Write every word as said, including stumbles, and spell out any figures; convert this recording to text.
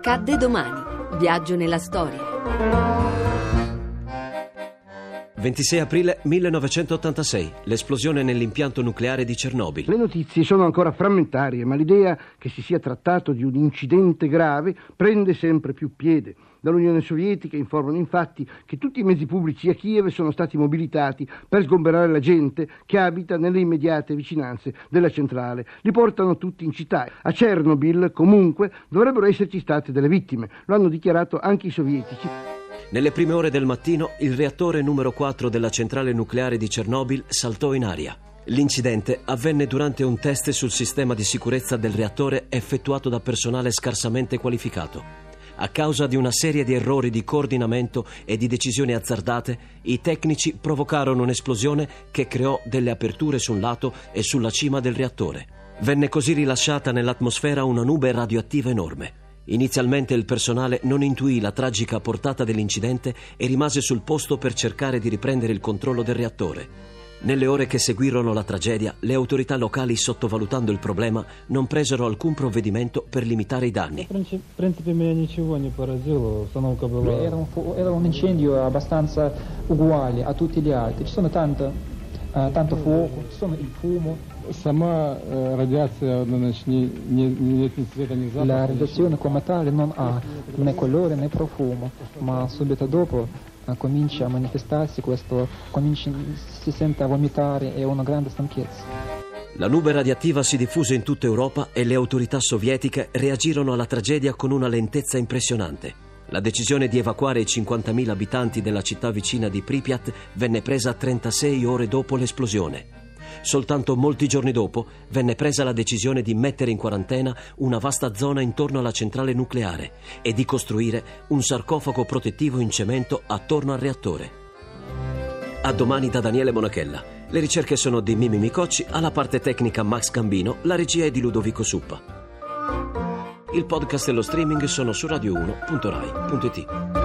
Accadde domani. Viaggio nella storia. ventisei aprile millenovecentottantasei, l'esplosione nell'impianto nucleare di Chernobyl. Le notizie sono ancora frammentarie, ma l'idea che si sia trattato di un incidente grave prende sempre più piede. Dall'Unione Sovietica informano infatti che tutti i mezzi pubblici a Kiev sono stati mobilitati per sgomberare la gente che abita nelle immediate vicinanze della centrale. Li portano tutti in città. A Chernobyl, comunque, dovrebbero esserci state delle vittime. Lo hanno dichiarato anche i sovietici. Nelle prime ore del mattino, il reattore numero quattro della centrale nucleare di Chernobyl saltò in aria. L'incidente avvenne durante un test sul sistema di sicurezza del reattore effettuato da personale scarsamente qualificato. A causa di una serie di errori di coordinamento e di decisioni azzardate, i tecnici provocarono un'esplosione che creò delle aperture su un lato e sulla cima del reattore. Venne così rilasciata nell'atmosfera una nube radioattiva enorme. Inizialmente il personale non intuì la tragica portata dell'incidente e rimase sul posto per cercare di riprendere il controllo del reattore. Nelle ore che seguirono la tragedia, le autorità locali, sottovalutando il problema, non presero alcun provvedimento per limitare i danni. Era un incendio abbastanza uguale a tutti gli altri. Ci sono tanto, uh, tanto fuoco, ci sono il fumo. Сама радиация, значит, не, не, нет ни цвета, ни запаха. La radiazione come tale non ha né colore né profumo, ma subito dopo uh, comincia a manifestarsi questo, comincia, si sente a vomitare e una grande stanchezza. La nube radioattiva si diffuse in tutta Europa e le autorità sovietiche reagirono alla tragedia con una lentezza impressionante. La decisione di evacuare i cinquantamila abitanti della città vicina di Pripyat venne presa trentasei ore dopo l'esplosione. Soltanto molti giorni dopo venne presa la decisione di mettere in quarantena una vasta zona intorno alla centrale nucleare e di costruire un sarcofago protettivo in cemento attorno al reattore. A domani da Daniele Monachella. Le ricerche sono di Mimi Micocci, alla parte tecnica Max Gambino, la regia è di Ludovico Suppa. Il podcast e lo streaming sono su radio uno punto rai punto it.